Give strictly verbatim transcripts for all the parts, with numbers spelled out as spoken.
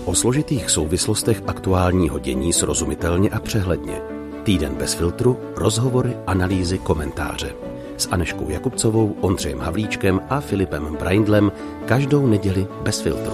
O složitých souvislostech aktuálního dění srozumitelně a přehledně. Týden bez filtru, rozhovory, analýzy, komentáře. S Anežkou Jakubcovou, Ondřejem Havlíčkem a Filipem Braindlem každou neděli bez filtru.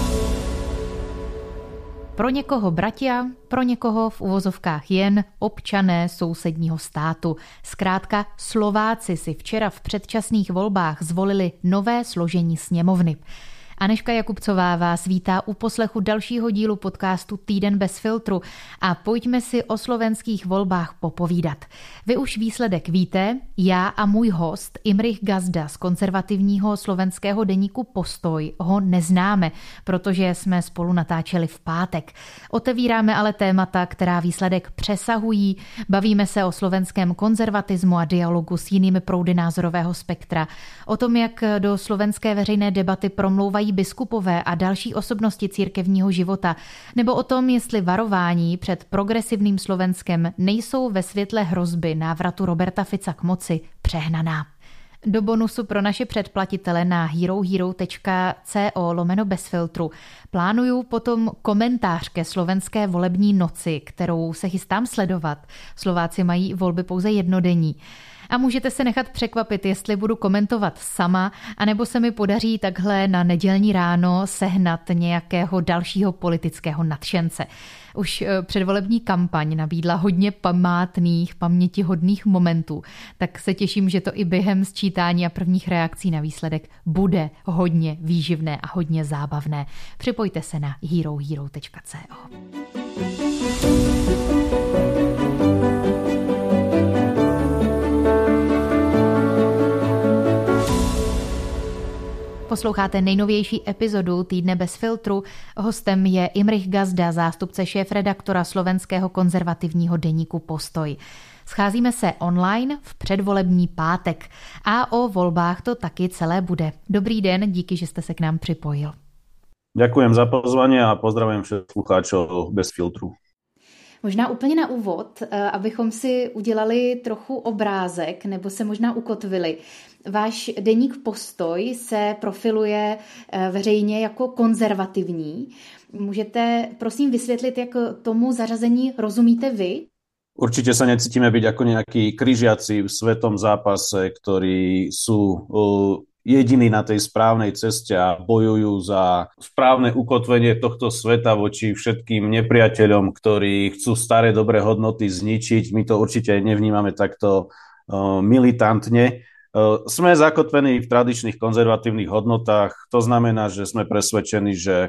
Pro někoho bratia, pro někoho v uvozovkách jen občané sousedního státu. Zkrátka Slováci si včera v předčasných volbách zvolili nové složení sněmovny. Anežka Jakubcová vás vítá u poslechu dalšího dílu podcastu Týden bez filtru a pojďme si o slovenských volbách popovídat. Vy už výsledek víte, já a můj host Imrich Gazda z konzervativního slovenského deníku Postoj ho neznáme, protože jsme spolu natáčeli v pátek. Otevíráme ale témata, která výsledek přesahují, bavíme se o slovenském konzervatismu a dialogu s jinými proudy názorového spektra, o tom, jak do slovenské veřejné debaty promlouvají biskupové a další osobnosti církevního života, nebo o tom, jestli varování před progresivním Slovenskem nejsou ve světle hrozby návratu Roberta Fica k moci přehnaná. Do bonusu pro naše předplatitele na herohero.co lomeno bez filtru plánuju potom komentář ke slovenské volební noci, kterou se chystám sledovat. Slováci mají volby pouze jednodenní. A můžete se nechat překvapit, jestli budu komentovat sama, anebo se mi podaří takhle na nedělní ráno sehnat nějakého dalšího politického nadšence. Už předvolební kampaň nabídla hodně památných, pamětihodných momentů, tak se těším, že to i během sčítání a prvních reakcí na výsledek bude hodně výživné a hodně zábavné. Připojte se na herohero.co. Posloucháte nejnovější epizodu Týdne bez filtru. Hostem je Imrich Gazda, zástupce šéfredaktora slovenského konzervativního deníku Postoj. Scházíme se online v předvolební pátek a o volbách to taky celé bude. Dobrý den, díky, že jste se k nám připojil. Ďakujem za pozvanie a pozdravujem všetkých poslucháčov bez filtru. Možná úplně na úvod, abychom si udělali trochu obrázek nebo se možná ukotvili. Váš deník Postoj se profiluje veřejně jako konzervativní. Můžete prosím vysvětlit, jak tomu zařazení rozumíte vy? Určite sa necítime byť ako nejakí križiaci v svetom zápase, ktorí sú jediní na tej správnej ceste a bojujú za správne ukotvenie tohto sveta voči všetkým nepriateľom, ktorí chcú staré dobré hodnoty zničiť. My to určite nevnímame takto militantne. Sme zakotvení v tradičných konzervatívnych hodnotách. To znamená, že sme presvedčení, že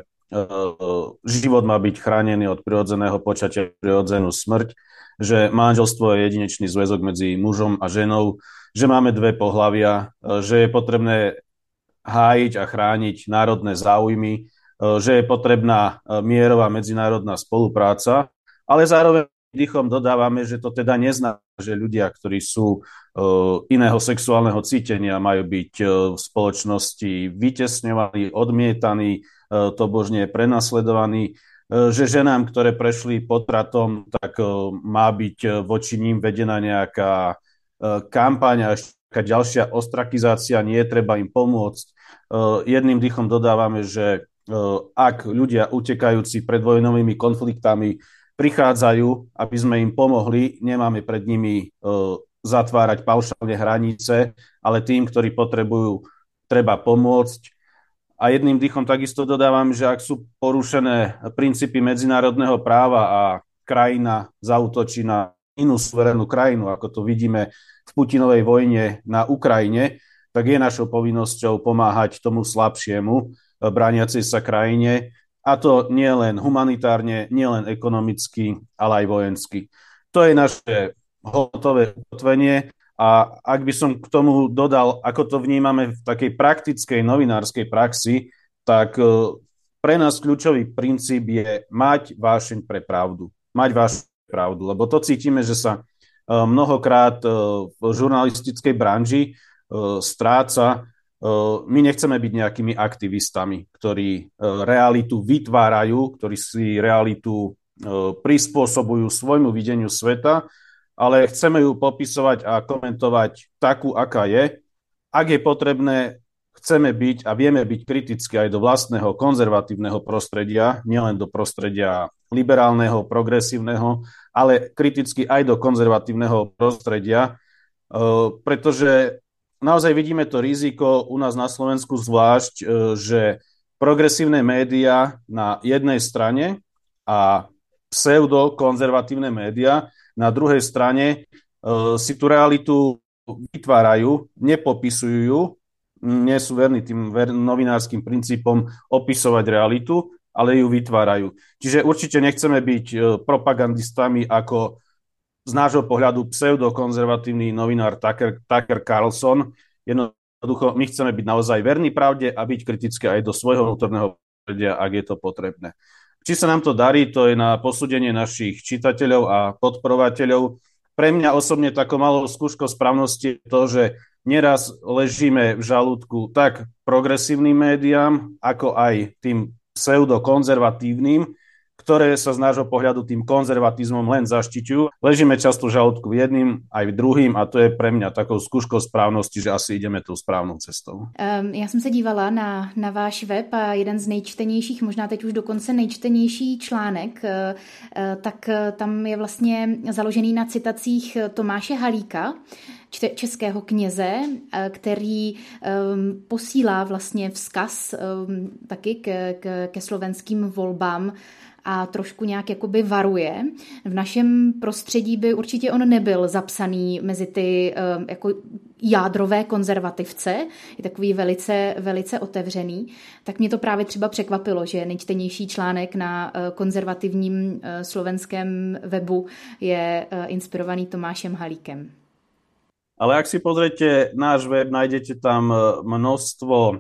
život má byť chránený od prirodzeného počatia, prirodzenú smrť, že manželstvo je jedinečný zväzok medzi mužom a ženou, že máme dve pohlavia, že je potrebné hájiť a chrániť národné záujmy, že je potrebná mierová medzinárodná spolupráca, ale zároveň dýchom dodávame, že to teda neznamená, že ľudia, ktorí sú iného sexuálneho cítenia, majú byť v spoločnosti vytesňovaní, odmietaní, tobožne prenasledovaní, že ženám, ktoré prešli potratom, tak má byť voči ním vedená nejaká kampaň a ešte ďalšia ostrakizácia, nie je treba im pomôcť. Jedným dýchom dodávame, že ak ľudia utekajúci pred vojnovými konfliktami prichádzajú, aby sme im pomohli, nemáme pred nimi zatvárať paušálne hranice, ale tým, ktorí potrebujú, treba pomôcť. A jedným dýchom takisto dodávam, že ak sú porušené princípy medzinárodného práva a krajina zaútočí na inú suverénnu krajinu, ako to vidíme v Putinovej vojne na Ukrajine, tak je našou povinnosťou pomáhať tomu slabšiemu, brániacej sa krajine, a to nie len humanitárne, nie len ekonomicky, ale aj vojensky. To je naše hodnotové ukotvenie. A ak by som k tomu dodal, ako to vnímame v takej praktickej novinárskej praxi, tak pre nás kľúčový princíp je mať vášeň pre pravdu. Mať vášeň pre pravdu, lebo to cítime, že sa mnohokrát v žurnalistickej branži stráca. My nechceme byť nejakými aktivistami, ktorí realitu vytvárajú, ktorí si realitu prispôsobujú svojmu videniu sveta, ale chceme ju popisovať a komentovať takú, aká je. Ak je potrebné, chceme byť a vieme byť kritickí aj do vlastného konzervatívneho prostredia, nielen do prostredia liberálneho, progresívneho, ale kriticky aj do konzervatívneho prostredia, pretože naozaj vidíme to riziko u nás na Slovensku zvlášť, že progresívne médiá na jednej strane a pseudokonzervatívne médiá na druhej strane si tú realitu vytvárajú, nepopisujú ju, nie sú verní tým ver- novinárskym princípom opisovať realitu, ale ju vytvárajú. Čiže určite nechceme byť propagandistami ako z nášho pohľadu pseudokonzervatívny novinár Tucker, Tucker Carlson. Jednoducho, my chceme byť naozaj verní pravde a byť kritické aj do svojho vnútorného prostredia, ak je to potrebné. Či sa nám to darí, to je na posúdenie našich čitateľov a podporovateľov. Pre mňa osobne takou malou skúškou správnosti je to, že neraz ležíme v žalúdku tak progresívnym médiám, ako aj tým pseudokonzervatívnym, ktoré sa z nášho pohľadu tým konzervatizmom len zaštiťujú. Ležíme často v žalúdku jedným aj druhým a to je pre mňa takou skúškou správnosti, že asi ideme tou správnou cestou. Um, já jsem se dívala na, na váš web a jeden z nejčtenějších, možná teď už dokonce nejčtenější článek, uh, uh, tak uh, tam je vlastně založený na citacích Tomáše Halíka, českého kněze, který um, posílá vlastně vzkaz um, taky ke, ke, ke slovenským volbám a trošku nějak jakoby varuje. V našem prostředí by určitě on nebyl zapsaný mezi ty um, jako jádrové konzervativce, je takový velice, velice otevřený. Tak mě to právě třeba překvapilo, že nejčtenější článek na uh, konzervativním uh, slovenském webu je uh, inspirovaný Tomášem Halíkem. Ale ak si pozriete náš web, nájdete tam množstvo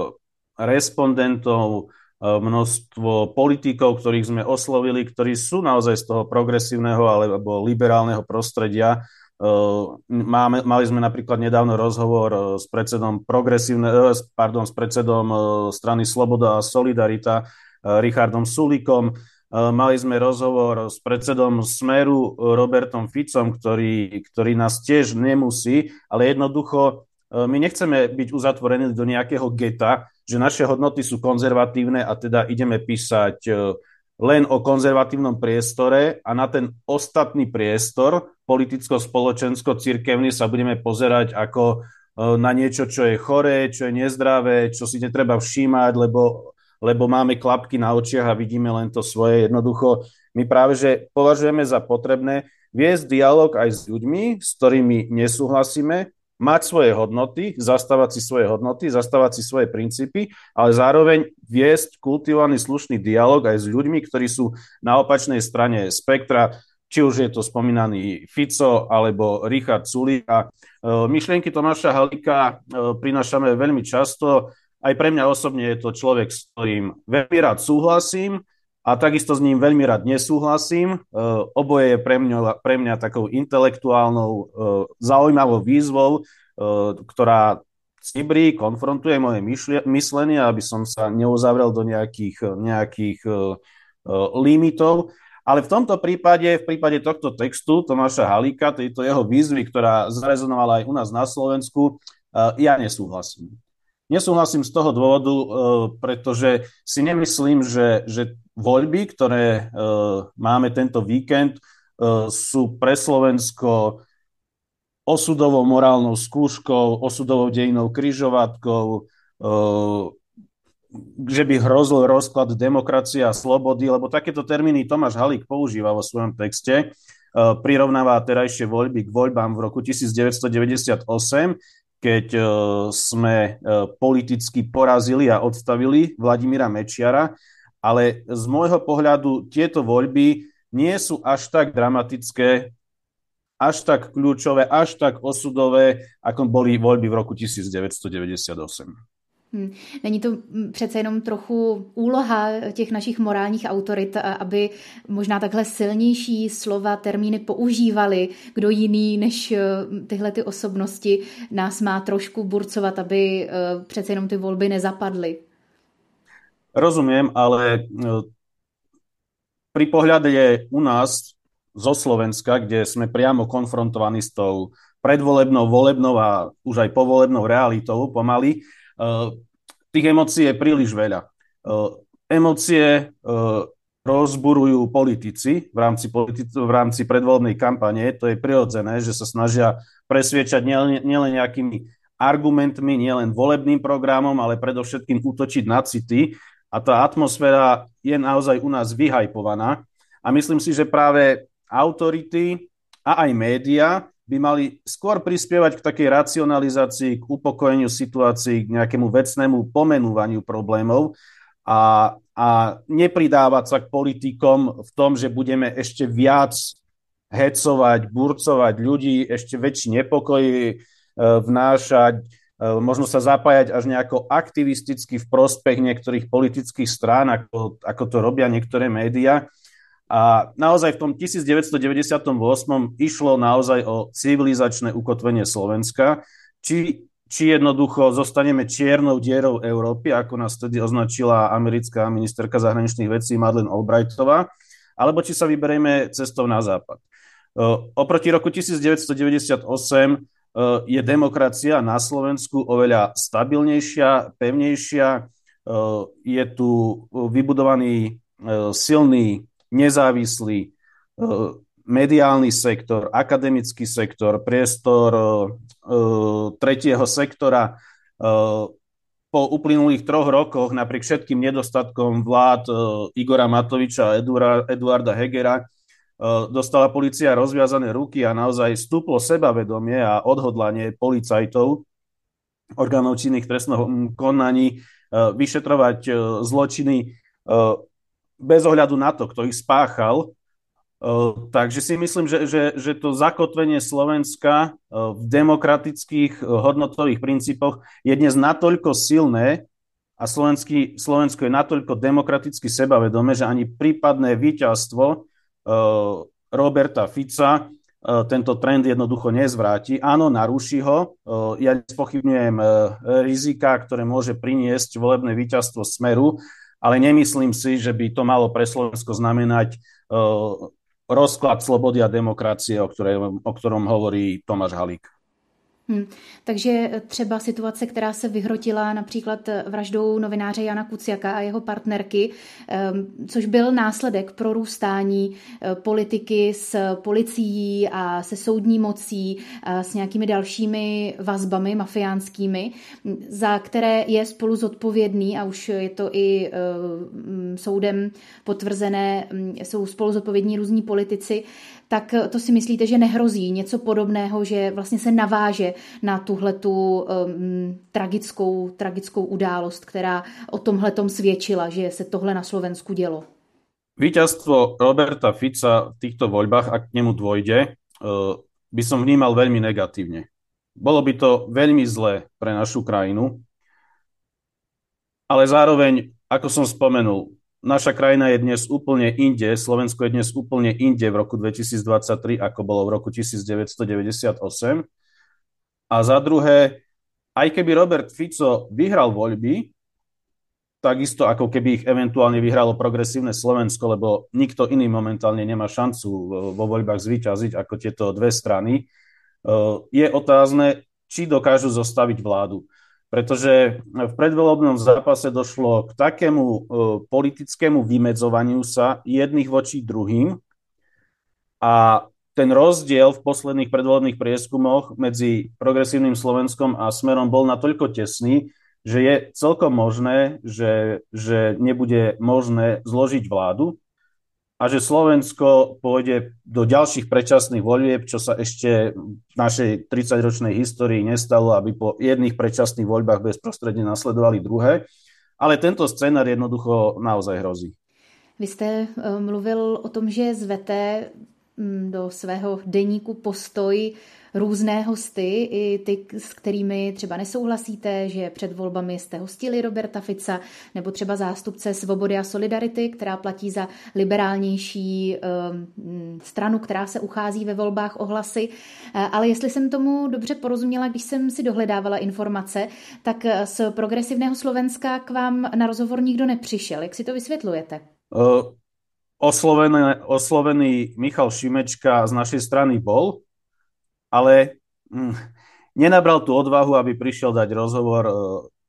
respondentov, množstvo politikov, ktorých sme oslovili, ktorí sú naozaj z toho progresívneho alebo liberálneho prostredia. Máme, mali sme napríklad nedávno rozhovor s predsedom progresívne, pardon, s predsedom strany Sloboda a Solidarita, Richardom Sulíkom. Mali sme rozhovor s predsedom Smeru Robertom Ficom, ktorý, ktorý nás tiež nemusí, ale jednoducho my nechceme byť uzatvorení do nejakého geta, že naše hodnoty sú konzervatívne a teda ideme písať len o konzervatívnom priestore a na ten ostatný priestor politicko-spoločensko-cirkevný sa budeme pozerať ako na niečo, čo je choré, čo je nezdravé, čo si netreba všímať, lebo lebo máme klapky na očiach a vidíme len to svoje. Jednoducho, my práve, že považujeme za potrebné viesť dialog aj s ľuďmi, s ktorými nesúhlasíme, mať svoje hodnoty, zastávať si svoje hodnoty, zastávať si svoje princípy, ale zároveň viesť kultivovaný slušný dialog aj s ľuďmi, ktorí sú na opačnej strane spektra, či už je to spomínaný Fico alebo Richard Sulík. A myšlienky Tomáša Halíka prinášame veľmi často. Aj pre mňa osobne je to človek, s ktorým veľmi rád súhlasím a takisto s ním veľmi rád nesúhlasím. Oboje je pre mňa, pre mňa takou intelektuálnou zaujímavou výzvou, ktorá cibrí, konfrontuje moje myslenie, aby som sa neuzavrel do nejakých, nejakých limitov. Ale v tomto prípade, v prípade tohto textu Tomáša Halíka, tejto jeho výzvy, ktorá zarezonovala aj u nás na Slovensku, ja nesúhlasím. Nesúhlasím z toho dôvodu, pretože si nemyslím, že, že voľby, ktoré máme tento víkend, sú pre Slovensko osudovou morálnou skúškou, osudovou dejinou križovatkou, že by hrozil rozklad demokracie a slobody, lebo takéto termíny Tomáš Halík používa vo svojom texte. Prirovnáva terajšie voľby k voľbám v roku devätnásťstodeväťdesiatosem, keď sme politicky porazili a odstavili Vladimíra Mečiara, ale z môjho pohľadu tieto voľby nie sú až tak dramatické, až tak kľúčové, až tak osudové, ako boli voľby v roku devätnásťstodeväťdesiatosem. Hmm. Není to přece jenom trochu úloha těch našich morálních autorit, aby možná takhle silnější slova, termíny používali, kdo jiný než tyhle ty osobnosti nás má trošku burcovat, aby přece jenom ty volby nezapadly? Rozumiem, ale pri pohľade u nás zo Slovenska, kde sme priamo konfrontovaní s tou predvolebnou, volebnou a už aj povolebnou realitou pomaly, Tých emócií je príliš veľa. Emócie rozburujú politici v rámci, politi- v rámci predvolebnej kampane. To je prirodzené, že sa snažia presviečať nielen, nielen nejakými argumentmi, nielen volebným programom, ale predovšetkým útočiť na city. A tá atmosféra je naozaj u nás vyhajpovaná. A myslím si, že práve autority a aj média by mali skôr prispievať k takej racionalizácii, k upokojeniu situácií, k nejakému vecnému pomenúvaniu problémov a, a nepridávať sa k politikom v tom, že budeme ešte viac hecovať, burcovať ľudí, ešte väčší nepokoj e, vnášať, e, možno sa zapájať až nejako aktivisticky v prospech niektorých politických strán, ako, ako to robia niektoré médiá. A naozaj v tom devätnásťstodeväťdesiatosem išlo naozaj o civilizačné ukotvenie Slovenska, či, či jednoducho zostaneme čiernou dierou Európy, ako nás vtedy označila americká ministerka zahraničných vecí Madeleine Albrightová, alebo či sa vyberieme cestou na západ. Oproti roku devätnásťstodeväťdesiatosem je demokracia na Slovensku oveľa stabilnejšia, pevnejšia, je tu vybudovaný silný nezávislý mediálny sektor, akademický sektor, priestor tretieho sektora. Po uplynulých troch rokoch, napriek všetkým nedostatkom vlád Igora Matoviča a Eduarda Hegera, dostala polícia rozviazané ruky a naozaj stúplo sebavedomie a odhodlanie policajtov, orgánov činných v trestnom konaní, vyšetrovať zločiny bez ohľadu na to, kto ich spáchal. Takže si myslím, že, že, že to zakotvenie Slovenska v demokratických hodnotových princípoch je dnes natoľko silné a Slovenský, Slovensko je natoľko demokraticky sebavedomé, že ani prípadné víťazstvo Roberta Fica tento trend jednoducho nezvráti. Áno, naruší ho. Ja nespochybňujem rizika, ktoré môže priniesť volebné víťazstvo Smeru, ale nemyslím si, že by to malo pre Slovensko znamenať uh, rozklad slobody a demokracie, o, ktorej, o ktorom hovorí Tomáš Halík. Hmm. Takže třeba situace, která se vyhrotila například vraždou novináře Jana Kuciaka a jeho partnerky, což byl následek prorůstání politiky s policií a se soudní mocí, a s nějakými dalšími vazbami mafiánskými, za které je spolu zodpovědný, a už je to i soudem potvrzené, jsou spolu zodpovědní různí politici, tak to si myslíte, že nehrozí něco podobného, že vlastně se naváže na tuhletu um, tragickou, tragickou událost, která o tomhletom svědčila, že se tohle na Slovensku dělo? Víťazstvo Roberta Fica v týchto voľbách, ak k nemu dôjde, by som vnímal veľmi negatívne. Bolo by to veľmi zlé pre našu krajinu, ale zároveň, ako som spomenul, naša krajina je dnes úplne inde, Slovensko je dnes úplne inde v roku dvetisícdvadsaťtri, ako bolo v roku devätnásťstodeväťdesiatosem. A za druhé, aj keby Robert Fico vyhral voľby, takisto ako keby ich eventuálne vyhralo progresívne Slovensko, lebo nikto iný momentálne nemá šancu vo voľbách zvíťaziť ako tieto dve strany, je otázne, či dokážu zostaviť vládu. Pretože v predvolebnom zápase došlo k takému uh, politickému vymedzovaniu sa jedných voči druhým a ten rozdiel v posledných predvolebných prieskumoch medzi progresívnym Slovenskom a Smerom bol natoľko tesný, že je celkom možné, že, že nebude možné zložiť vládu a že Slovensko pôjde do ďalších predčasných volieb, čo sa ešte v našej tridsaťročnej histórii nestalo, aby po jedných predčasných voľbách bezprostredne nasledovali druhé. Ale tento scénar jednoducho naozaj hrozí. Vy jste mluvil o tom, že zvete do svého deníku Postoj různé hosty, i ty, s kterými třeba nesouhlasíte, že před volbami jste hostili Roberta Fica, nebo třeba zástupce Svobody a Solidarity, která platí za liberálnější um, stranu, která se uchází ve volbách o hlasy. Ale jestli jsem tomu dobře porozuměla, když jsem si dohledávala informace, tak z progresivného Slovenska k vám na rozhovor nikdo nepřišel. Jak si to vysvětlujete? Uh, oslovený, oslovený Michal Šimečka z našej strany bol, ale hm, nenabral tú odvahu, aby prišiel dať rozhovor uh,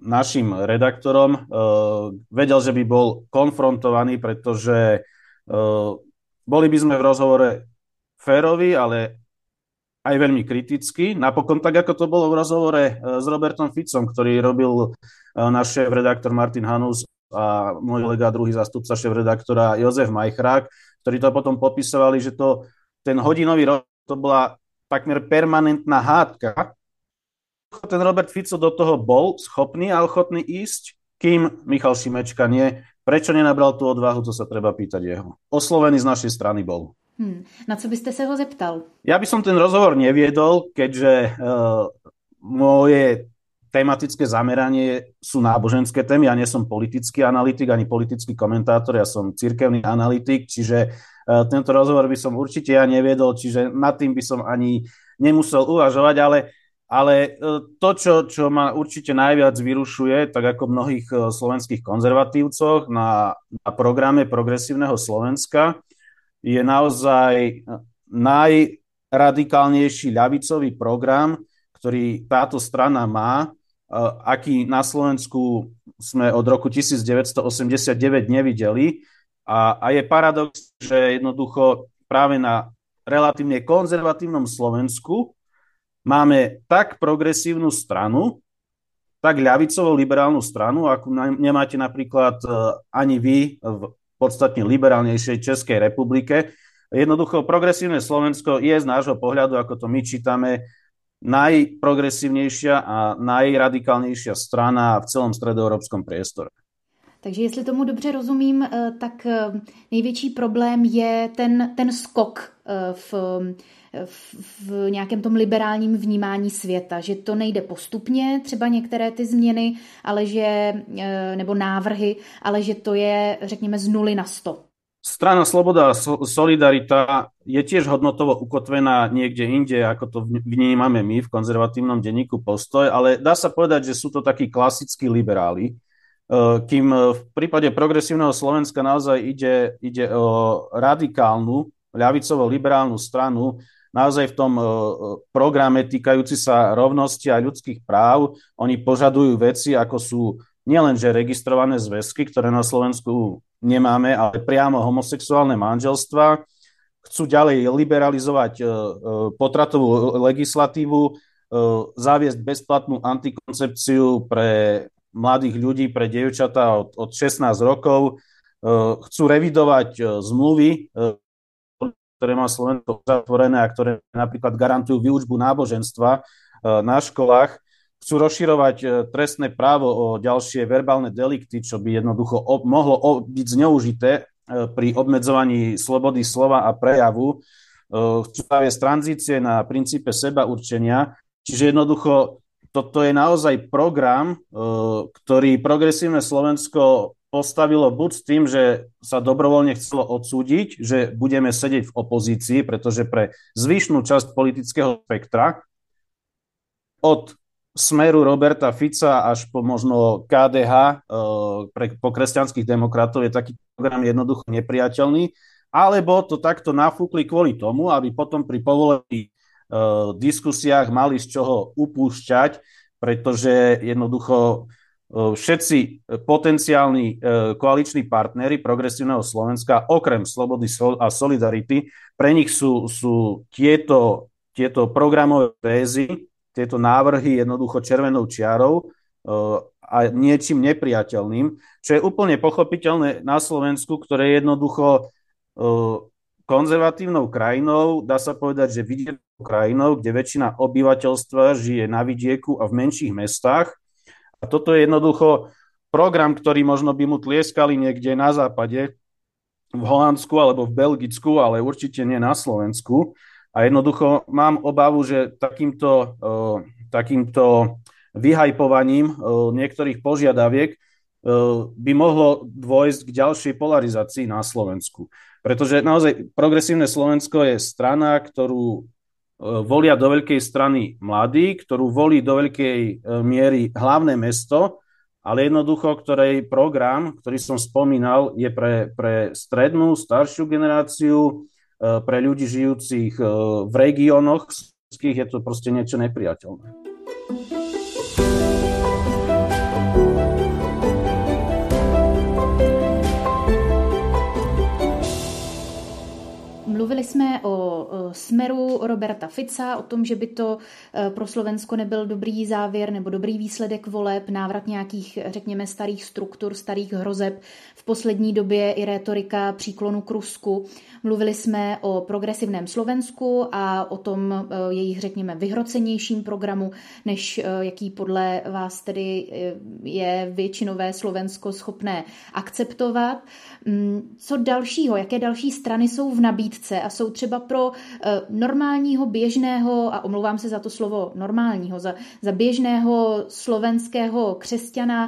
našim redaktorom, vedel, že by bol konfrontovaný, pretože boli by sme v rozhovore férovi, ale aj veľmi kriticky. Napokon tak, ako to bolo v rozhovore s Robertom Ficom, ktorý robil náš šéf-redaktor Martin Hanus a môj kolega, druhý zástupca šéf-redaktora Jozef Majchrák, ktorí to potom popisovali, že to, ten hodinový rozhovor, to bola takmer permanentná hádka. Ten Robert Fico do toho bol schopný a ochotný ísť, kým Michal Šimečka nie. Prečo nenabral tú odvahu, to sa treba pýtať jeho. Oslovený z našej strany bol. Hmm. Na co byste se ho zeptal? Ja by som ten rozhovor neviedol, keďže uh, moje tematické zameranie sú náboženské témy. Ja nie som politický analytik ani politický komentátor, ja som cirkevný analytik, čiže uh, tento rozhovor by som určite ja neviedol, čiže nad tým by som ani nemusel uvažovať, ale Ale to, čo, čo ma určite najviac vyrušuje, tak ako mnohých slovenských konzervatívcoch na, na programe Progresívneho Slovenska, je naozaj najradikálnejší ľavicový program, ktorý táto strana má, aký na Slovensku sme od roku devätnásťstoosemdesiatdeväť nevideli. A, a je paradox, že jednoducho práve na relatívne konzervatívnom Slovensku máme tak progresívnu stranu, tak ľavicovú liberálnu stranu, ako nemáte napríklad ani vy v podstatne liberálnejšej Českej republike. Jednoducho progresívne Slovensko je z nášho pohľadu, ako to my čítame, najprogresívnejšia a najradikálnejšia strana v celom stredoeurópskom priestore. Takže jestli tomu dobře rozumím, tak největší problém je ten, ten skok v, v, v nějakém tom liberálním vnímání světa, že to nejde postupně, třeba některé ty změny, ale že, nebo návrhy, ale že to je, řekněme, z nuly na sto. Strana Sloboda a Solidarita je tiež hodnotovo ukotvená niekde inde, ako to vnímame my v konzervatívnom denníku Postoj, ale dá sa povedať, že sú to takí klasickí liberáli, kým v prípade Progresívneho Slovenska naozaj ide, ide o radikálnu, ľavicovo-liberálnu stranu, naozaj v tom programe týkajúci sa rovnosti a ľudských práv. Oni požadujú veci, ako sú nielenže registrované zväzky, ktoré na Slovensku nemáme, ale priamo homosexuálne manželstva. Chcú ďalej liberalizovať potratovú legislatívu, zaviesť bezplatnú antikoncepciu pre mladých ľudí, pre dievčatá od, od šestnásť rokov. Chcú revidovať zmluvy, ktoré má Slovensko zatvorené a ktoré napríklad garantujú výučbu náboženstva na školách. Chcú rozširovať trestné právo o ďalšie verbálne delikty, čo by jednoducho mohlo byť zneužité pri obmedzovaní slobody slova a prejavu. Chcú zaviesť tranzície na princípe seba určenia. Čiže jednoducho toto je naozaj program, ktorý Progresívne Slovensko postavilo buď s tým, že sa dobrovoľne chcelo odsúdiť, že budeme sedieť v opozícii, pretože pre zvyšnú časť politického spektra od Smeru Roberta Fica až po možno ká dé há pre, po kresťanských demokratov je taký program jednoducho nepriateľný, alebo to takto nafúkli kvôli tomu, aby potom pri povolených diskusiách mali z čoho upúšťať, pretože jednoducho všetci potenciálni koaliční partneri Progresívneho Slovenska, okrem Slobody a Solidarity, pre nich sú, sú tieto, tieto programové tézy, tieto návrhy jednoducho červenou čiarou a niečím nepriateľným, čo je úplne pochopiteľné na Slovensku, ktoré je jednoducho konzervatívnou krajinou, dá sa povedať, že vidiekou krajinou, kde väčšina obyvateľstva žije na vidieku a v menších mestách. A toto je jednoducho program, ktorý možno by mu tlieskali niekde na západe, v Holandsku alebo v Belgicku, ale určite nie na Slovensku. A jednoducho mám obavu, že takýmto, takýmto vyhajpovaním niektorých požiadaviek by mohlo dôjsť k ďalšej polarizácii na Slovensku. Pretože naozaj Progresívne Slovensko je strana, ktorú volia do veľkej strany mladí, ktorú volí do veľkej miery hlavné mesto, ale jednoducho, ktorej program, ktorý som spomínal, je pre, pre strednú, staršiu generáciu, pre ľudí žijúcich v regiónoch, je to proste niečo nepriateľné. Mluvili jsme o smeru Roberta Fica, o tom, že by to pro Slovensko nebyl dobrý závěr nebo dobrý výsledek voleb, návrat nějakých, řekněme, starých struktur, starých hrozeb. V poslední době i rétorika příklonu k Rusku. Mluvili jsme o progresivném Slovensku a o tom jejich, řekněme, vyhrocenějším programu, než jaký podle vás tedy je většinové Slovensko schopné akceptovat. Co dalšího, jaké další strany jsou v nabídce a jsou třeba pro normálního, běžného, a omlouvám se za to slovo normálního, za, za běžného slovenského křesťana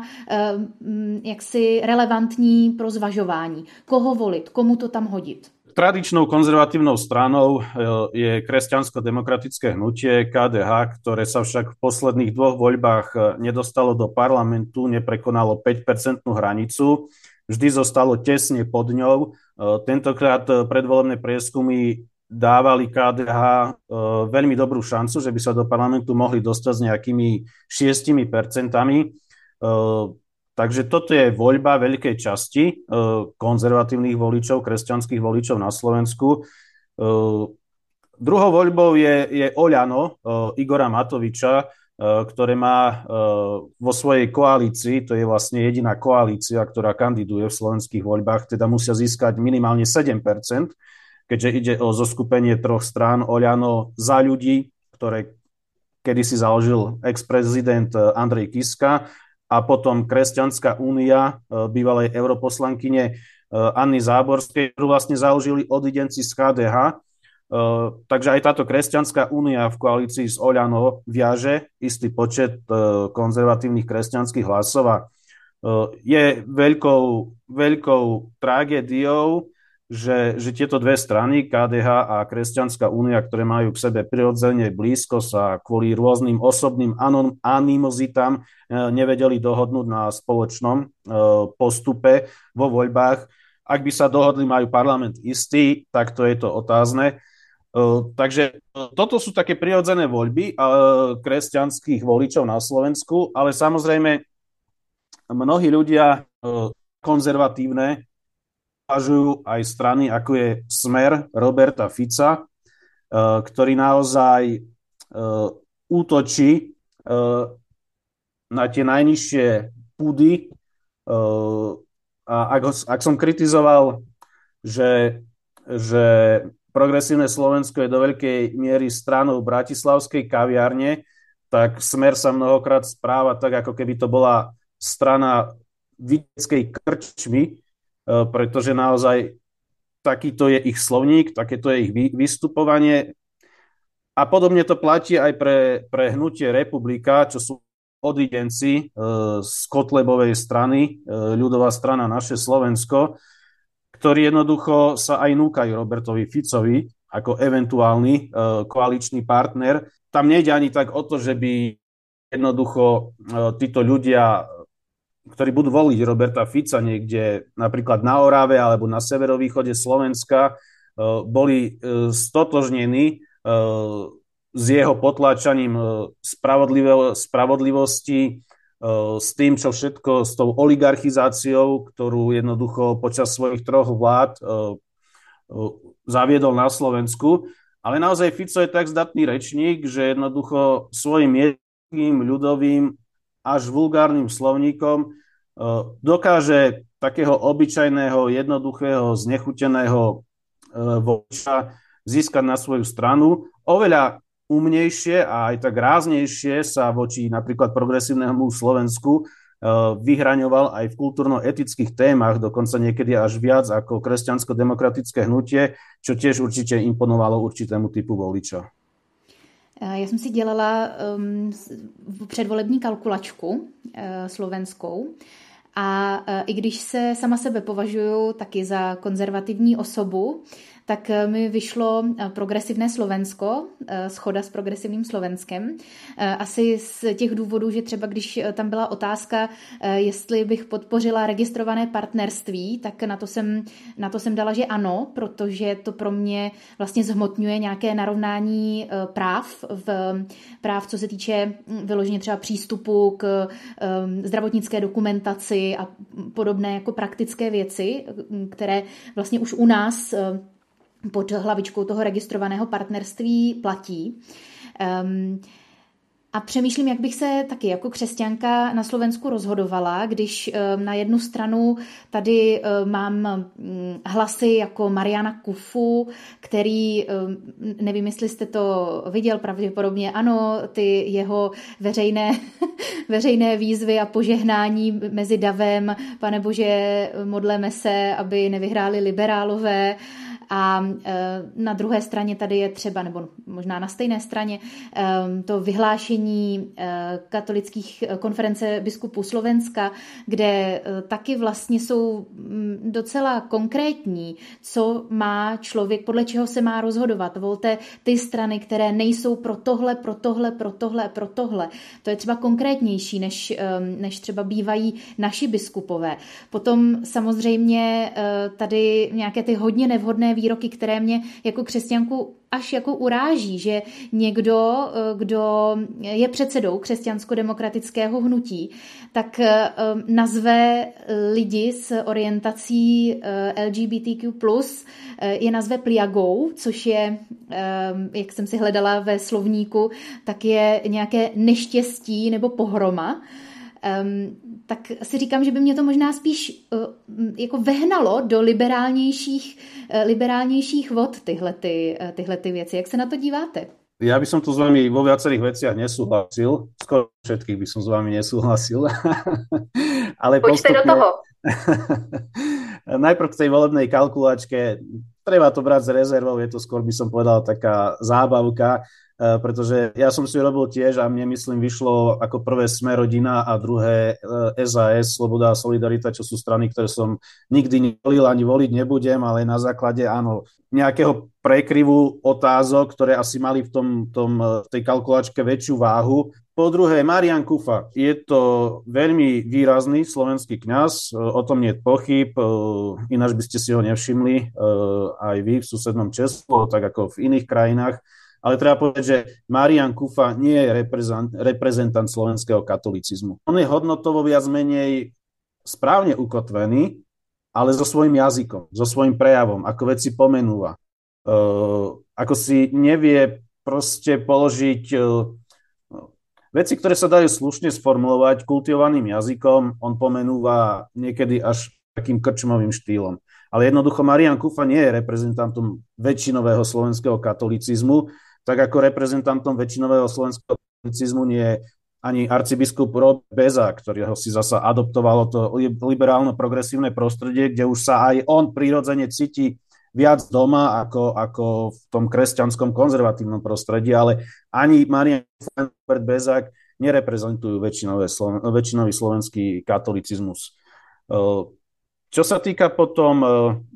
jaksi relevantní pro zvažování. Koho volit, komu to tam hodit? Tradičnou konzervatívnou stranou je kresťansko-demokratické hnutie ká dé há, ktoré sa však v posledných dvoch voľbách nedostalo do parlamentu, neprekonalo päť percentnú hranicu, vždy zostalo tesne pod ňou. Tentokrát predvolebné prieskumy dávali ká dé há veľmi dobrú šancu, že by sa do parlamentu mohli dostať s nejakými šiestimi percentami. Takže toto je voľba veľkej časti e, konzervatívnych voličov, kresťanských voličov na Slovensku. E, druhou voľbou je, je Oľano e, Igora Matoviča, e, ktoré má e, vo svojej koalícii, to je vlastne jediná koalícia, ktorá kandiduje v slovenských voľbách, teda musia získať minimálne sedem percent, keďže ide o zoskupenie troch strán Oľano Za ľudí, ktoré kedysi založil ex-prezident Andrej Kiska, a potom Kresťanská únia bývalej europoslankyne Anny Záborskej, ktorú vlastne založili odidenci z ká dé há. Takže aj táto Kresťanská únia v koalícii s Oľano viaže istý počet konzervatívnych kresťanských hlasov a je veľkou, veľkou tragédiou, že, že tieto dve strany, ká dé há a Kresťanská únia, ktoré majú k sebe prirodzene blízko, sa kvôli rôznym osobným animozitám nevedeli dohodnúť na spoločnom postupe vo voľbách. Ak by sa dohodli, majú parlament istý, tak to je to otázne. Takže toto sú také prirodzené voľby kresťanských voličov na Slovensku, ale samozrejme mnohí ľudia konzervatívne považujú aj strany, ako je Smer Roberta Fica, ktorý naozaj útočí na tie najnižšie púdy. A ak, ak som kritizoval, že, že progresívne Slovensko je do veľkej miery stranou bratislavskej kaviárne, tak Smer sa mnohokrát správa tak, ako keby to bola strana vidieckej krčmy, pretože naozaj takýto je ich slovník, takéto je ich vystupovanie. A podobne to platí aj pre, pre hnutie Republika, čo sú odidenci z Kotlebovej strany, ľudová strana Naše Slovensko, ktorí jednoducho sa aj núkajú Robertovi Ficovi ako eventuálny koaličný partner. Tam nejde ani tak o to, že by jednoducho títo ľudia, ktorí budú voliť Roberta Fica niekde napríklad na Orave alebo na severovýchode Slovenska, boli stotožnení s jeho potláčaním spravodlivosti, s tým, čo všetko, s tou oligarchizáciou, ktorú jednoducho počas svojich troch vlád zaviedol na Slovensku. Ale naozaj Fico je tak zdatný rečník, že jednoducho svojim jednoduchým, ľudovým až vulgárnym slovníkom dokáže takého obyčajného, jednoduchého, znechuteného voliča získať na svoju stranu. Oveľa umnejšie a aj tak ráznejšie sa voči napríklad progresívnemu Slovensku vyhraňoval aj v kultúrno-etických témach, dokonca niekedy až viac ako kresťansko-demokratické hnutie, čo tiež určite imponovalo určitému typu voliča. Já jsem si dělala um, předvolební kalkulačku uh, slovenskou a uh, i když se sama sebe považuji taky za konzervativní osobu, tak mi vyšlo progresivné Slovensko, shoda s progresivním Slovenskem. Asi z těch důvodů, že třeba když tam byla otázka, jestli bych podpořila registrované partnerství, tak na to jsem, na to jsem dala, že ano, protože to pro mě vlastně zhmotňuje nějaké narovnání práv, v, práv, co se týče vyloženě třeba přístupu k zdravotnické dokumentaci a podobné jako praktické věci, které vlastně už u nás pod hlavičkou toho registrovaného partnerství platí. Um, A přemýšlím, jak bych se taky jako křesťanka na Slovensku rozhodovala, když na jednu stranu tady mám hlasy jako Mariana Kufu, který, nevím, jestli jste to viděl, pravděpodobně ano, ty jeho veřejné, veřejné výzvy a požehnání mezi davem, Pane Bože, modleme se, aby nevyhráli liberálové. A na druhé straně tady je třeba, nebo možná na stejné straně, to vyhlášení katolických konference biskupů Slovenska, kde taky vlastně jsou docela konkrétní, co má člověk, podle čeho se má rozhodovat. Volte ty strany, které nejsou pro tohle, pro tohle, pro tohle, pro tohle. To je třeba konkrétnější, než, než třeba bývají naši biskupové. Potom samozřejmě tady nějaké ty hodně nevhodné výroky, které mě jako křesťanku až jako uráží, že někdo, kdo je předsedou křesťansko-demokratického hnutí, tak nazve lidi s orientací L G B T Q plus, je nazve pliagou, což je, jak jsem si hledala ve slovníku, tak je nějaké neštěstí nebo pohroma. Um, tak si říkám, že by mě to možná spíš uh, jako vehnalo do liberálnějších, uh, liberálnějších vod tyhle, ty, uh, tyhle ty věci. Jak se na to díváte? Ja by som tu s vami vo viacerých veciach nesúhlasil. Skoro všetkých by som s vami nesúhlasil. Ale Poďte postupne... do toho. Najprv k tej volebnej kalkulačke. Treba to brať s rezervou, je to skôr, by som povedal, taká zábavka, pretože ja som si robil tiež a mne, myslím, vyšlo ako prvé Sme rodina a druhé es a es, Sloboda a Solidarita, čo sú strany, ktoré som nikdy nevolil ani voliť nebudem, ale na základe, áno, nejakého prekryvu otázok, ktoré asi mali v tom, tom, tej kalkulačke väčšiu váhu. Po druhé, Marián Kufa. Je to veľmi výrazný slovenský kňaz, o tom nie je pochyb, ináč by ste si ho nevšimli aj vy v susednom Česku, tak ako v iných krajinách. Ale treba povedať, že Marián Kufa nie je reprezentant, reprezentant slovenského katolicizmu. On je hodnotovo viac menej správne ukotvený, ale so svojím jazykom, so svojím prejavom, ako veci pomenúva. Uh, ako si nevie proste položiť uh, veci, ktoré sa dajú slušne sformulovať kultivovaným jazykom, on pomenúva niekedy až takým krčmovým štýlom. Ale jednoducho Marián Kufa nie je reprezentantom väčšinového slovenského katolicizmu, tak ako reprezentantom väčšinového slovenského katolicizmu nie je ani arcibiskup Robert Bezák, ktorého si zasa adoptovalo to liberálno-progresívne prostredie, kde už sa aj on prirodzene cíti viac doma ako, ako v tom kresťanskom konzervatívnom prostredí, ale ani Marián Kufa, Robert Bezák nereprezentujú Sloven- väčšinový slovenský katolicizmus. Čo sa týka potom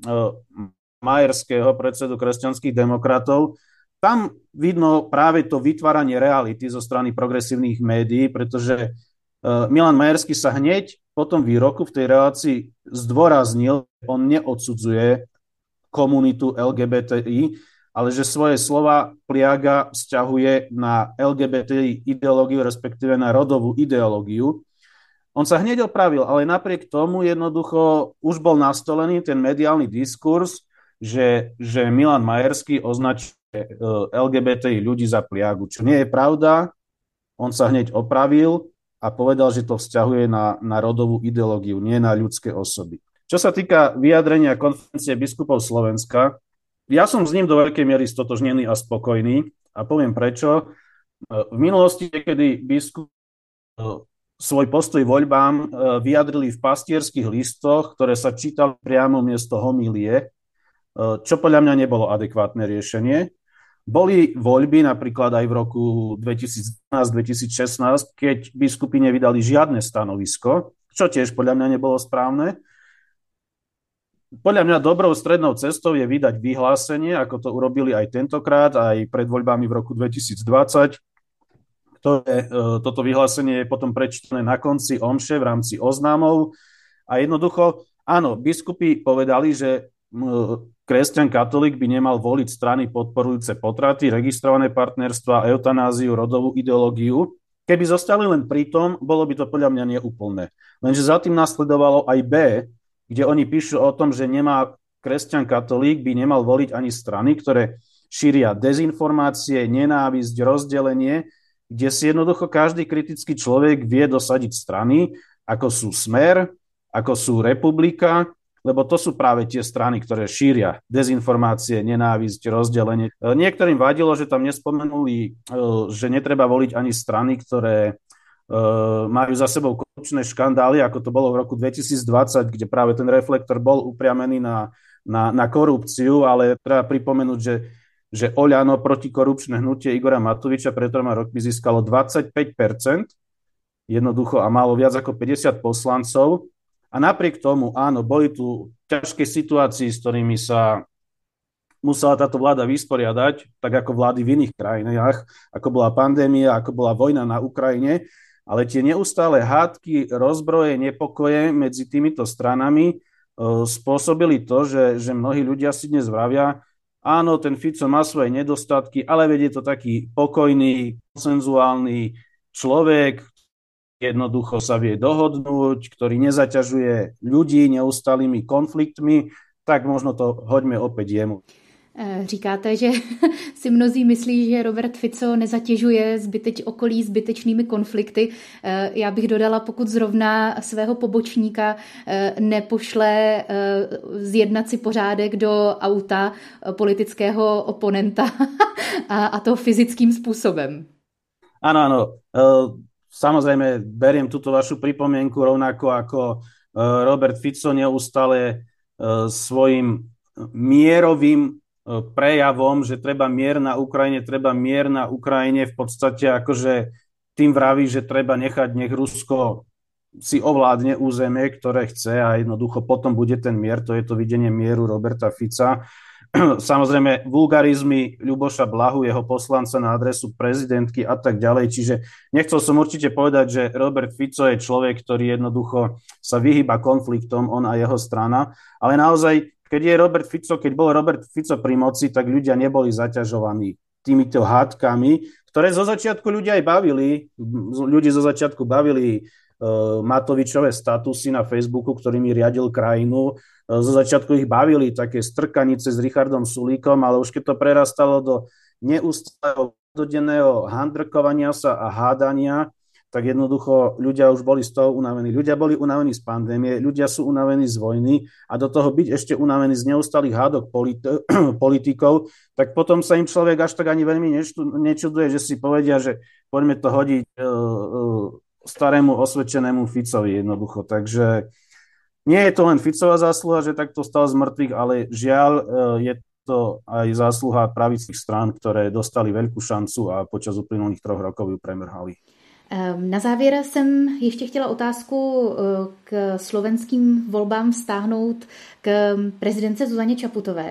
Majerského, predsedu kresťanských demokratov, tam vidno práve to vytváranie reality zo strany progresívnych médií, pretože Milan Majerský sa hneď po tom výroku v tej relácii zdôraznil, on neodsudzuje komunitu el gé bé té í, ale že svoje slova pliaga vzťahuje na el gé bé té í ideológiu, respektíve na rodovú ideológiu. On sa hneď opravil, ale napriek tomu jednoducho už bol nastolený ten mediálny diskurs, že, že Milan Majerský označuje el gé bé té í ľudí za pliagu, čo nie je pravda. On sa hneď opravil a povedal, že to vzťahuje na, na rodovú ideológiu, nie na ľudské osoby. Čo sa týka vyjadrenia konferencie biskupov Slovenska, ja som s ním do veľkej miery stotožnený a spokojný a poviem prečo. V minulosti, kedy biskup svoj postoj voľbám vyjadrili v pastierských listoch, ktoré sa čítali priamo miesto homílie, čo podľa mňa nebolo adekvátne riešenie. Boli voľby napríklad aj v roku dvetisícdvanásť dvetisícšestnásť, keď biskupy nevydali žiadne stanovisko, čo tiež podľa mňa nebolo správne. Podľa mňa dobrou strednou cestou je vydať vyhlásenie, ako to urobili aj tentokrát, aj pred voľbami v roku dvetisícdvadsať. Ktoré, toto vyhlásenie je potom prečítané na konci omše v rámci oznámov. A jednoducho, áno, biskupy povedali, že kresťan katolík by nemal voliť strany podporujúce potraty, registrované partnerstva, eutanáziu, rodovú ideológiu. Keby zostali len pri tom, bolo by to podľa mňa neúplné. Lenže za tým nasledovalo aj B, kde oni píšu o tom, že nemá kresťan katolík by nemal voliť ani strany, ktoré šíria dezinformácie, nenávisť, rozdelenie, kde si jednoducho každý kritický človek vie dosadiť strany, ako sú Smer, ako sú Republika, lebo to sú práve tie strany, ktoré šíria dezinformácie, nenávisť, rozdelenie. Niektorým vadilo, že tam nespomenuli, že netreba voliť ani strany, ktoré majú za sebou korupčné škandály, ako to bolo v roku dvetisícdvadsať, kde práve ten reflektor bol upriamený na, na, na korupciu, ale treba pripomenúť, že, že Oľano protikorupčné hnutie Igora Matoviča pred troma rokmi získalo dvadsaťpäť percent, jednoducho a malo viac ako päťdesiat poslancov. A napriek tomu, áno, boli tu ťažké situácie, s ktorými sa musela táto vláda vysporiadať, tak ako vlády v iných krajinách, ako bola pandémia, ako bola vojna na Ukrajine, ale tie neustále hádky, rozbroje, nepokoje medzi týmito stranami e, spôsobili to, že, že mnohí ľudia si dnes vravia, áno, ten Fico má svoje nedostatky, ale veď je to taký pokojný, konsenzuálny človek, jednoducho sa vie dohodnúť, ktorý nezaťažuje ľudí neustálými konfliktmi, tak možno to hoďme opäť jemu. Říkáte, že si mnozí myslí, že Robert Fico nezatěžuje zbyteč, okolí zbytečnými konflikty. Já bych dodala, pokud zrovna svého pobočníka nepošle zjednat si pořádek do auta politického oponenta a to fyzickým způsobem. Áno, áno. Samozrejme, beriem túto vašu pripomienku rovnako ako Robert Fico neustále svojim mierovým prejavom, že treba mier na Ukrajine, treba mier na Ukrajine, v podstate akože tým vraví, že treba nechať, nech Rusko si ovládne územie, ktoré chce a jednoducho potom bude ten mier, to je to videnie mieru Roberta Fica. Samozrejme vulgarizmy Ľuboša Blahu, jeho poslanca na adresu prezidentky a tak ďalej, čiže nechcel som určite povedať, že Robert Fico je človek, ktorý jednoducho sa vyhýba konfliktom, on a jeho strana, ale naozaj keď je Robert Fico, keď bol Robert Fico pri moci, tak ľudia neboli zaťažovaní týmito hádkami, ktoré zo začiatku ľudia aj bavili. Ľudí zo začiatku bavili uh, Matovičové statusy na Facebooku, ktorými riadil krajinu. Uh, zo začiatku ich bavili také strkanice s Richardom Sulíkom, ale už keď to prerastalo do neustáleho denného handrkovania sa a hádania, tak jednoducho ľudia už boli z toho unavení. Ľudia boli unavení z pandémie, ľudia sú unavení z vojny a do toho byť ešte unavení z neustálých hádok politi- politikov, tak potom sa im človek až tak ani veľmi nečuduje, že si povedia, že poďme to hodiť uh, uh, starému osvedčenému Ficovi jednoducho. Takže nie je to len Ficová zásluha, že takto stal z mŕtvych, ale žiaľ uh, je to aj zásluha pravicích strán, ktoré dostali veľkú šancu a počas uplynulých troch rokov ju premrhali. Na závěr jsem ještě chtěla otázku k slovenským volbám vztáhnout k prezidentce Zuzaně Čaputové.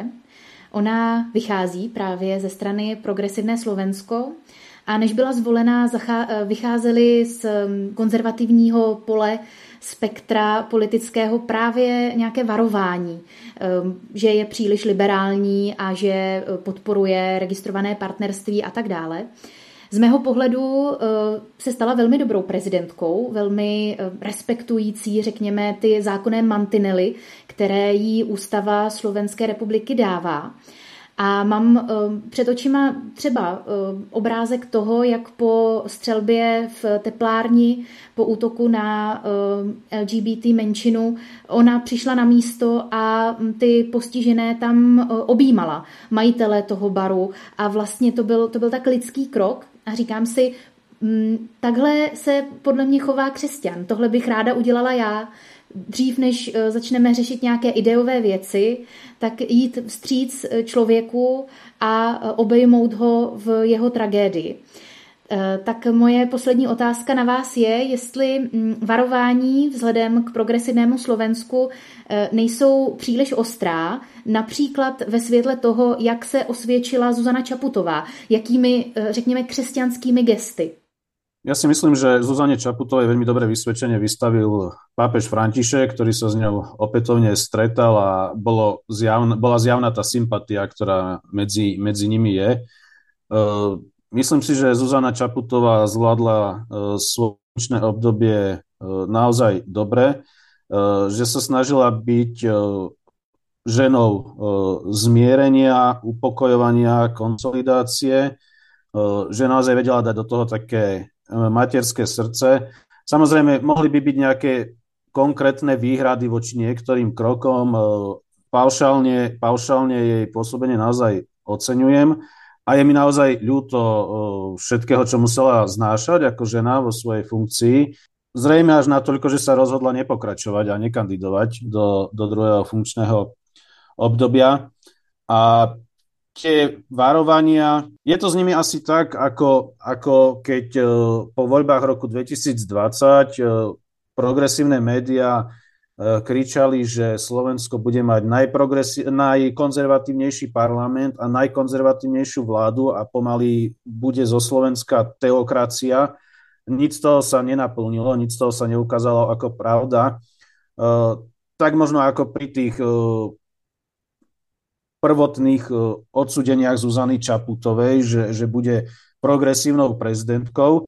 Ona vychází právě ze strany Progresivné Slovensko a než byla zvolená, vycházely z konzervativního pole spektra politického právě nějaké varování, že je příliš liberální a že podporuje registrované partnerství a tak dále. Z mého pohledu se stala velmi dobrou prezidentkou, velmi respektující, řekněme, ty zákonné mantinely, které jí ústava Slovenské republiky dává. A mám před očima třeba obrázek toho, jak po střelbě v teplárni, po útoku na L G B T menšinu, ona přišla na místo a ty postižené tam objímala, majitele toho baru, a vlastně to byl, to byl tak lidský krok. A říkám si, takhle se podle mě chová křesťan. Tohle bych ráda udělala já. Dřív, než začneme řešit nějaké ideové věci, tak jít vstříc člověku a obejmout ho v jeho tragédii. Tak moje poslední otázka na vás je, jestli varování vzhledem k progresivnému Slovensku nejsou příliš ostrá, například ve světle toho, jak se osvědčila Zuzana Čaputová, jakými, řekněme, křesťanskými gesty. Ja si myslím, že Zuzane Čaputovej veľmi dobre vysvedčenie vystavil pápež František, ktorý sa s ňou opätovne stretal a bolo zjavn, bola zjavná tá sympatia, ktorá medzi, medzi nimi je. Uh, myslím si, že Zuzana Čaputová zvládla uh, svoje obdobie uh, naozaj dobre, uh, že sa snažila byť uh, ženou e, zmierenia, upokojovania, konsolidácie, e, že naozaj vedela dať do toho také materské srdce. Samozrejme, mohli by byť nejaké konkrétne výhrady voči niektorým krokom. E, paušálne, paušálne jej pôsobenie naozaj oceňujem. A je mi naozaj ľúto všetkého, čo musela znášať ako žena vo svojej funkcii. Zrejme až natoľko, že sa rozhodla nepokračovať a nekandidovať do, do druhého funkčného obdobia. A tie varovania, je to s nimi asi tak, ako, ako keď po voľbách roku dvetisícdvadsať progresívne médiá kričali, že Slovensko bude mať najkonzervatívnejší parlament a najkonzervatívnejšiu vládu a pomaly bude zo Slovenska teokracia. Nič z toho sa nenaplnilo, nič z toho sa neukázalo ako pravda. Tak možno ako pri tých prvotných odsúdeniach Zuzany Čaputovej, že, že bude progresívnou prezidentkou.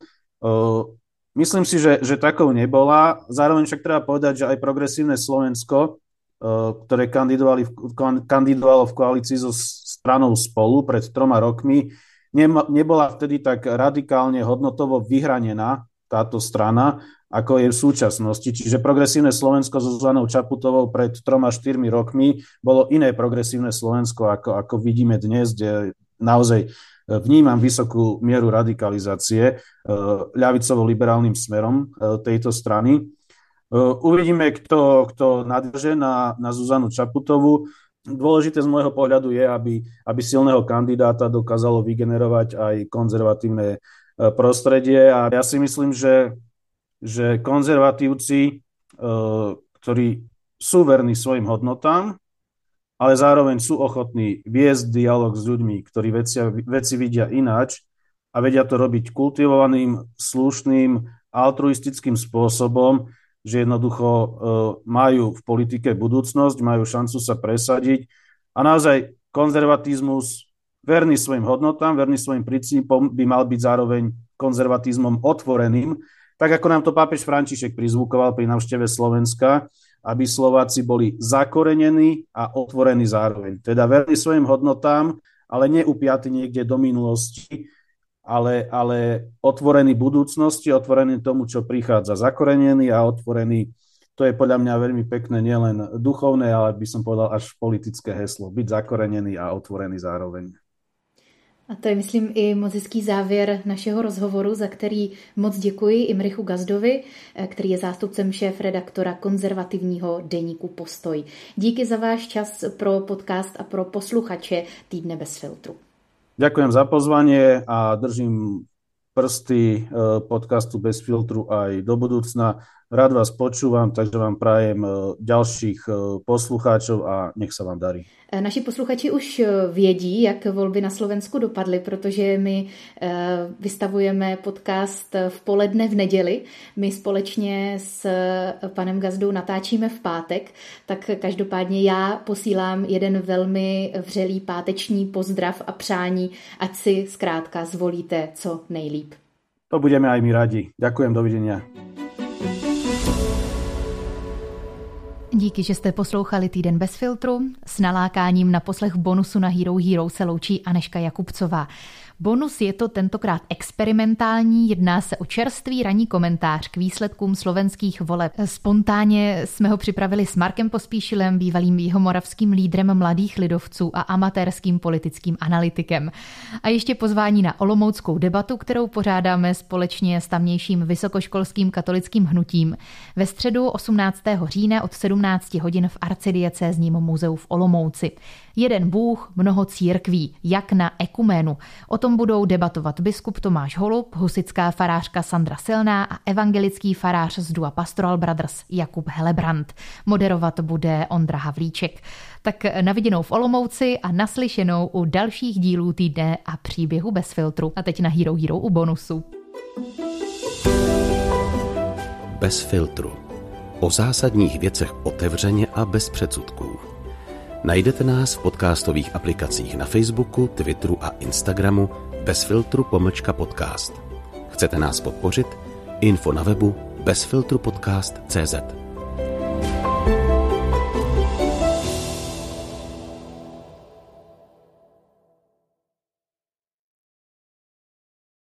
Myslím si, že, že takou nebola. Zároveň však treba povedať, že aj progresívne Slovensko, ktoré kandidovali v, kandidovalo v koalícii so stranou Spolu pred troma rokmi, nebola vtedy tak radikálne hodnotovo vyhranená táto strana, ako je v súčasnosti. Čiže progresívne Slovensko so Zuzanou Čaputovou pred troma, štyrmi rokmi bolo iné progresívne Slovensko, ako, ako vidíme dnes, kde naozaj vnímam vysokú mieru radikalizácie ľavicovo-liberálnym smerom tejto strany. Uvidíme, kto, kto nadviaže na, na Zuzanu Čaputovú. Dôležité z môjho pohľadu je, aby, aby silného kandidáta dokázalo vygenerovať aj konzervatívne prostredie. A ja si myslím, že, že konzervatívci, ktorí sú verní svojim hodnotám, ale zároveň sú ochotní viesť dialog s ľuďmi, ktorí veci, veci vidia ináč a vedia to robiť kultivovaným, slušným, altruistickým spôsobom, že jednoducho e, majú v politike budúcnosť, majú šancu sa presadiť a naozaj konzervatizmus verný svojim hodnotám, verný svojim princípom by mal byť zároveň konzervatizmom otvoreným, tak ako nám to pápež František prizvukoval pri návšteve Slovenska, aby Slováci boli zakorenení a otvorení zároveň. Teda verní svojim hodnotám, ale neupiatí niekde do minulosti, ale, ale otvorení budúcnosti, otvorení tomu, čo prichádza. Zakorenení a otvorení, to je podľa mňa veľmi pekné, nielen duchovné, ale by som povedal až politické heslo. Byť zakorenený a otvorený zároveň. A to je, myslím, i moc hezký závěr našeho rozhovoru, za který moc děkuji Imrichu Gazdovi, který je zástupcem šéfredaktora konzervativního deníku Postoj. Díky za váš čas pro podcast a pro posluchače Týdne bez filtru. Ďakujem za pozvanie a držím prsty podcastu Bez filtru aj do budúcna. Rád vás počúvam, takže vám prajem ďalších poslucháčov a nech sa vám darí. Naši posluchači už vědí, jak volby na Slovensku dopadly, protože my vystavujeme podcast v poledne v neděli. My společně s panem Gazdou natáčíme v pátek, tak každopádně já posílám jeden velmi vřelý páteční pozdrav a přání, ať si zkrátka zvolíte co nejlíp. To budeme aj my radi. Ďakujem, dovidenia. Díky, že jste poslouchali Týden bez filtru. S nalákáním na poslech bonusu na Hero Hero se loučí Anežka Jakubcová. Bonus je to tentokrát experimentální, jedná se o čerstvý ranní komentář k výsledkům slovenských voleb. Spontánně jsme ho připravili s Markem Pospíšilem, bývalým jihomoravským lídrem mladých lidovců a amatérským politickým analytikem. A ještě pozvání na olomouckou debatu, kterou pořádáme společně s tamnějším vysokoškolským katolickým hnutím. Ve středu osmnáctého října od sedmnácti hodin v arcidiecézním muzeu v Olomouci. Jeden Bůh, mnoho církví, jak na ekuménu. O tom budou debatovat biskup Tomáš Holub, husitská farářka Sandra Silná a evangelický farář z dua Pastoral Brothers Jakub Helebrant. Moderovat bude Ondra Havlíček. Tak na viděnou v Olomouci a naslyšenou u dalších dílů Týdne a příběhu bez filtru. A teď na Hero Hero u bonusu. Bez filtru. O zásadních věcech otevřeně a bez předsudků. Najdete nás v podcastových aplikacích na Facebooku, Twitteru a Instagramu bez filtru pomlčka podcast. Chcete nás podpořit? Info na webu bezfiltrupodcast tečka cé zet.